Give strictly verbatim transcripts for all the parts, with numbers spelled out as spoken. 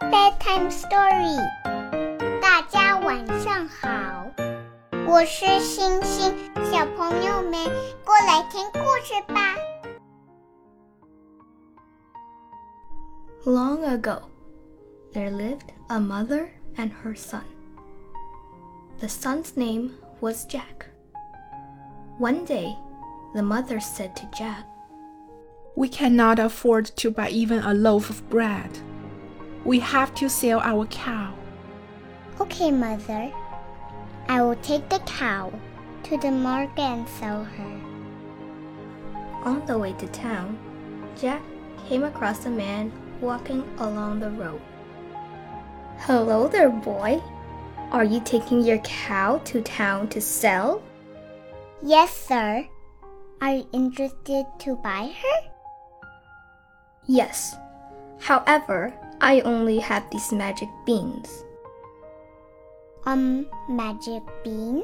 Bedtime Story。大家晚上好，我是星星，小朋友们过来听故事吧。 Long ago, there lived a mother and her son. The son's name was Jack. One day, the mother said to Jack, "We cannot afford to buy even a loaf of bread. We have to sell our cow." Okay, Mother. I will take the cow to the market and sell her. On the way to town, Jack came across a man walking along the road. "Hello there, boy. Are you taking your cow to town to sell?" Yes, sir. Are you interested to buy her? Yes. However, I only have these magic beans. Um, magic beans?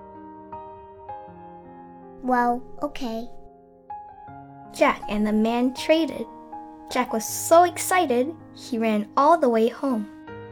Well, okay. Jack and the man traded. Jack was so excited, he ran all the way home.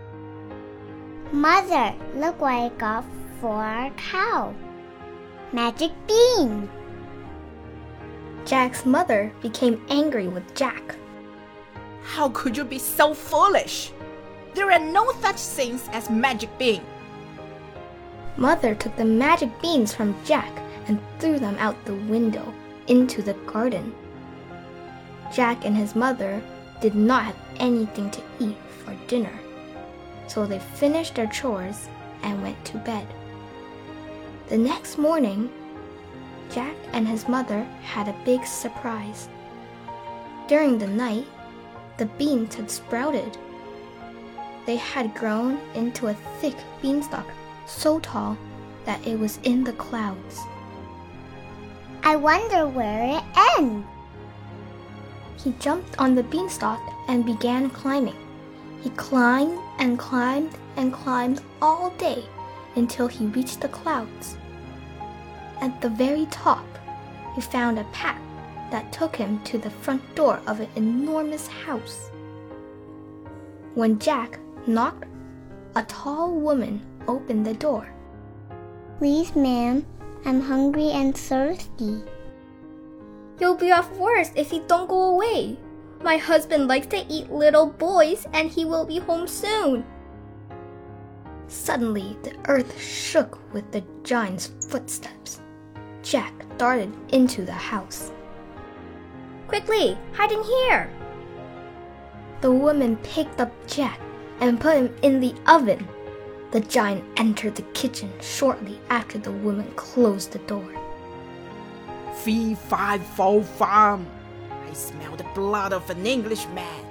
Mother, look what I got for our cow. Magic bean. Jack's mother became angry with Jack. "How could you be so foolish? There are no such things as magic bean." Mother took the magic beans from Jack and threw them out the window into the garden. Jack and his mother did not have anything to eat for dinner, so they finished their chores and went to bed. The next morning, Jack and his mother had a big surprise. During the night, the beans had sprouted. They had grown into a thick beanstalk so tall that it was in the clouds. I wonder where it ends. He jumped on the beanstalk and began climbing. He climbed and climbed and climbed all day until he reached the clouds. At the very top, he found a path that took him to the front door of an enormous house. When Jack knocked, a tall woman opened the door. Please, ma'am, I'm hungry and thirsty. "You'll be off worse if you don't go away. My husband likes to eat little boys and he will be home soon." Suddenly, the earth shook with the giant's footsteps. Jack darted into the house. "Quickly, hide in here!" The woman picked up Jack and put him in the oven. The giant entered the kitchen shortly after the woman closed the door. "Fee, fi, fo, fum. I smell the blood of an Englishman."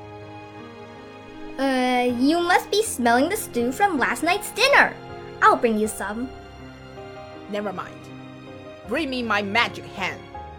Uh, you must be smelling the stew from last night's dinner. I'll bring you some. "Never mind. Bring me my magic hen."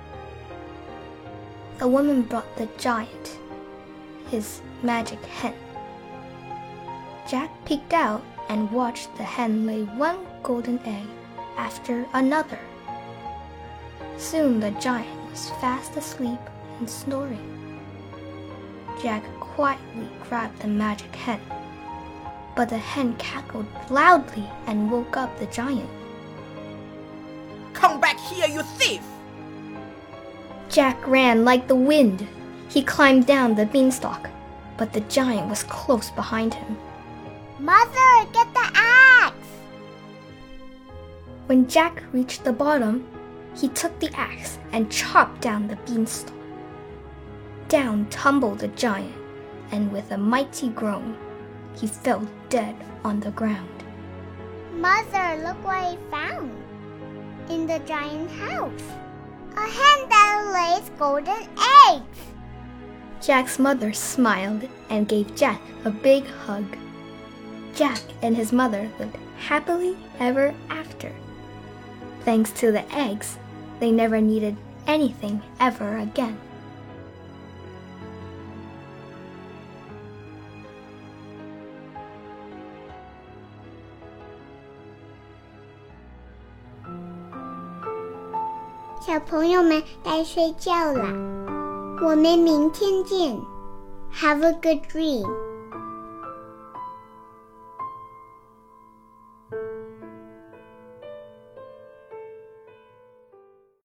The woman brought the giant his magic hen. Jack peeked out and watched the hen lay one golden egg after another. Soon the giant was fast asleep and snoring. Jack quietly grabbed the magic hen, but the hen cackled loudly and woke up the giant. "Come back here, you thief!" Jack ran like the wind. He climbed down the beanstalk, but the giant was close behind him. Mother, get the axe! When Jack reached the bottom, he took the axe and chopped down the beanstalk. Down tumbled the giant, and with a mighty groan, he fell dead on the ground. Mother, look what I found in the giant house. A hen that lays golden eggs. Jack's mother smiled and gave Jack a big hug. Jack and his mother lived happily ever after. Thanks to the eggs, they never needed anything ever again. "小朋友们该睡觉了，我们明天见。Have a good dream.